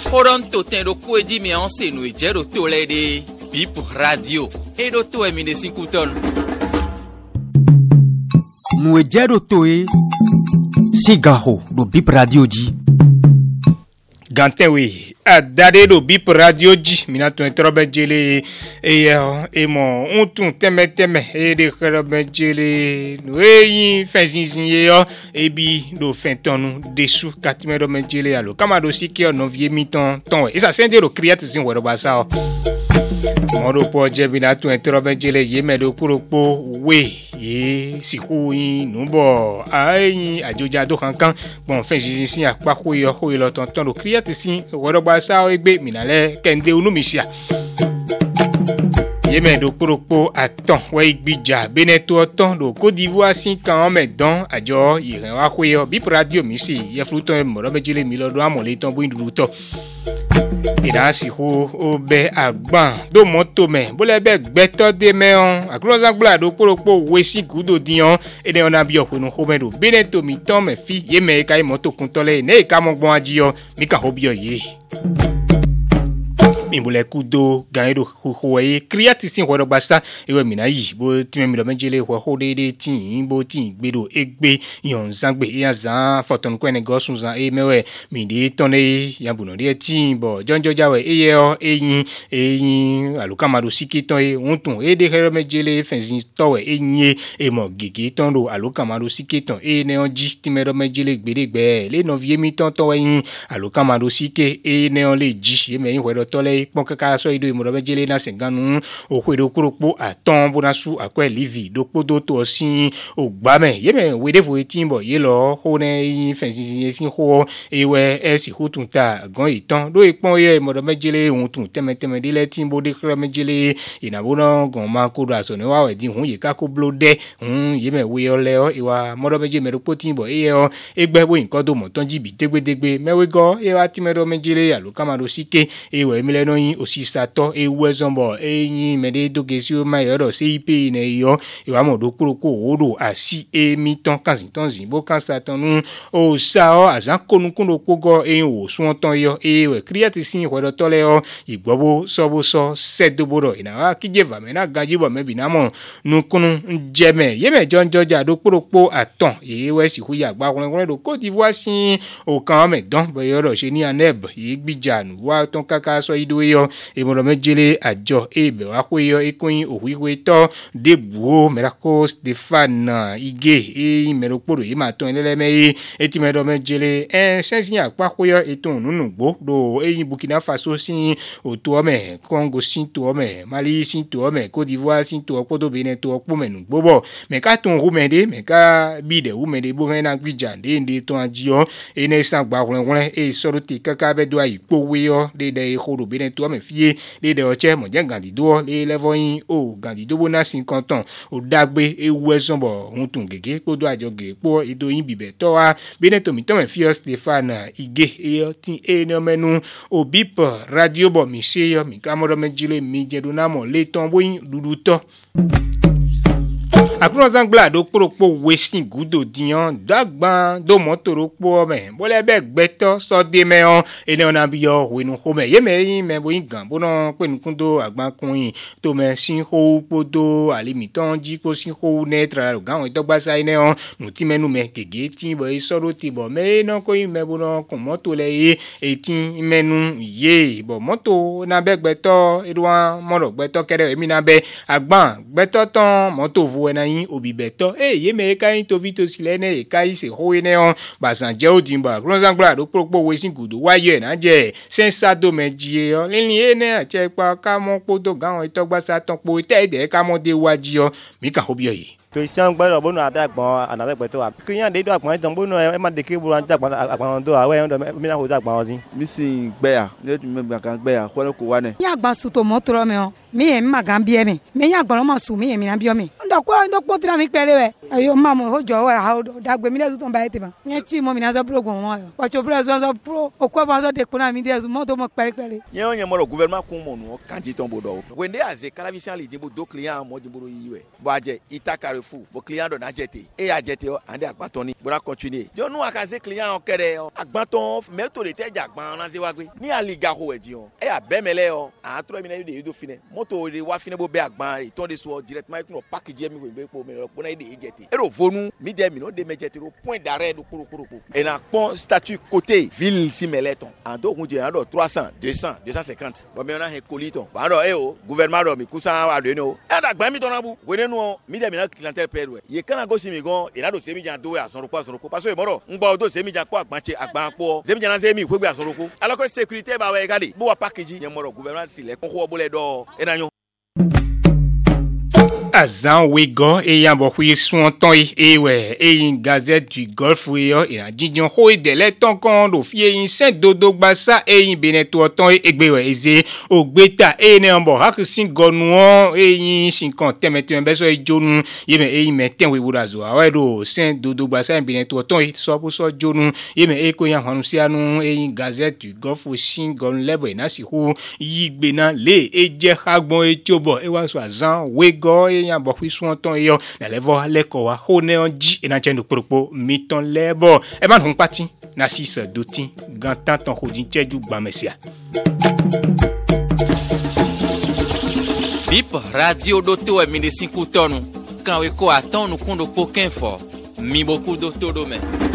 Toronto tem do coedi me anse no ejero tole de Bip Radio. E do to e mi de 5 ton. No ejero toe Sigaho do Bip Radio di. Gantewe adade do Bip Radio di minato entrobe jele e mo untun teme e de krobe jele no yin fenzinzin yo e bi do fentonu desu katime me jele alo kamado sikio no vie miton ton e sa sende do create sin wero basa modo po je minato entrobe jele yeme do puropo we ye siku yin nubo ayin ajoja do kankan bon fenzinzin apako yo ho lo tonton do create sin wero basa egbe minale kende unumisia yeme do poropo aton we igbija beneto oton do Côte d'Ivoire sin kan medan ajo iran wa kwe Bip Radio mi si ye fluton moro mejile mi lodo amole ton bo indulu to ida si ho obe agban do moto me bo le be gbeto de me on akroza gba do poropo we si gudo dion ede ona bi okunu ho me do beneto mi ton me fi yeme kai moto kuntole ne ka mo gbon ajiyo mi ka hobio ye Mimbule kudo ganyedo huwe create sin woro basta ewe minayi bo time mi do menjele ho de tin bo tin gbedo egbe yon zangbe ya zan foton ko ene gosun zan e mewe mi de tonne yabuno de tin bo jonjo jawe eyin alukamado sikiton e untun e de here menjele fenzin towe eyin e mo gege ton do alukamado sikiton e ne onji time do menjele gbedegbe le no vie mi ton towe yin alukamado sike e ne on le ji e me yin wedo tole pon kaka so ido imoro mejele na senganu okwedo kuropo aton bonasu akwe livi dopodo to sin ogbame yeme wedefo etimbo ye lo ho ne fensin sin ho ewe esi hutunta gan itan do ipon ye imoro mejele ohun tun temeteme dile timbo de kro mejele inabona gan ma ko do aso ni wa we di hun ye ka ko blode yeme we ole o iwa moro meje meropo timbo eye o egbe bo nkan do mo tan jibi degbedegbe mewego e wa timero mejele alukamado sike ewe mi leno yin osisato ewe zombo eyin mede dogesi o ma yoro CIP ne yo iwa mo do kuroko odo asi emi ton kansin ton zimbo kansa tonu o sa o azan konukun do pogo eyin o sun ton yo ewe create sin wedo tole o igbobo sobo so sedoboro ina wa kijeva me na gajibo me binamo nukunu njeme yeme jonjoja do kuroko aton ewe si huya gba kunle do Côte d'Ivoire sin o kan me don bo yoro se ni aneb igbijanu wa ton kaka so ido yo imoro mejele ajo ebe wa kweyo ikoyin owiwe to debuo merako Stefan ige meroporo yi ma ton leleme eti mero mejele sensin apa kweyo eton nunugbo do eyin Burkina Faso sin oto ome Congo sin to ome Mali sin to ome Côte d'Ivoire sin to opodo Benin to opo menugbo bo me ka ton rumede me ka bide rumede bo na gbijande nde ton ajiyo ene san gba wonwon e soro ti kaka be do ayipowe yo de horo Benin to ome fie de oche mo je gandido le levoyin o gandido bona 50 ans o dagbe ewu ezonbo huntun gege podo ajoge po idoyin bibe to wa Benin to mi to me fie Stefan ige e tin ene menu o Bip Radio bo mi se yo mi kamoro mejile mi jeduna mo le ton boyin dudu to akuro zangla do poropo wesin gudo diyan dagban do motoro po me bole be gbeto so de me on ene ona bi yo wenu ho me yeme yin me bo yin gan bono pe nukun do agban kun to me sin ho podo alimitan ji ko sin ho netra gan to gba sai ne on nu ti menu me gege tin bo isoro ti bo me no ko yin me bono kun moto le etin menu ye bo moto na be gbeto edwan moro gbeto kere emi na be agban gbeto ton moto vu na yin obibeto yeme kai to vito silene kai se hoene on basan je odimba ronzangla do propo wesin gudu waye na je sensado meji o lini ene ache pa ka mo podo gan itogba sa ton po tede ka mo de waji o mi ka hobio yi Christian gbero bono adagbon anabegbeto wa Christian de do agbon ton bono e ma de ke buru adagbon agbon do awe ndo mi na ho adagbon ozin mi sin gbeya le tu me gba kan gbeya ko ko wa ne ya gba su to motoro me o mi e ma gambie mi me ya gboro ma su mi e mi na bio mi ndo ko tira mi pele we ayo ma mo ho jo we ha da gbe mi le tu ba ete ba yen ti mo mi na so program mo o cho president so pro o ko ba so de ko na mi de so mo to mo pele yen on yen mo gouvernement kun mo no kanji ton bodo wende aze kalavisian li dimbo do client mo dimbo yiwe bo aje ita Carrefour bo client do na jete e a jete o ande agbaton ni bo ra continuer jo nu akaze client o kere o agbaton me to le teja agban na se wa gbe ni aliga ho e di o e a bemele o a tro mi na de do fine moto de wa fine bo be agban e ton de so directement no package mi gbe po me ro po na de jete e ro vonu mi de mi no de me jete ro point d'arrêt do kuro e na pon statut côté ville si meleton en do kun je na do 300 200 250 bo me na he coliton ba do e o gouvernement do mi kusa wa de no e da gba mi ton na bu we de no mi de mi na clientèle perwe ye kana go si mi gon e na do se mi jan do we asoroko parce que moro ngbo do se mi jan ko agban po se mi jan na se mi ko gbe asoroko alors que sécurité ba we gade bo wa package ye moro gouvernement si le ko ho bo le do e na yo Azan Wego et Yambohui sont et ouais et une gazette du Golfe et la Didion Hoi de l'éton quand fier une saint dodo bassa et une beneto ton et gbewe eze au gbeta et ne ambo hak sin gonuon et une 50 mettez un beso et jonu yeme et metten we burazo ouais do saint dodo bassa et beneto ton et so pour so jonu yeme e ko yan hanusianu et une gazette du Golfe sin gon lebo na si hu yigbena le e je hagbon e chobo e wa so Azan Wego et yan bo son ton yo na levo leko wa hone on ji e na chendo propo miton lebo e man hon pati na 6 doti gantan ton hodin cheju gba mesia Bip radio doto e mine 5 tonu kan we ko aton no kundo poken fo mi boku doto do me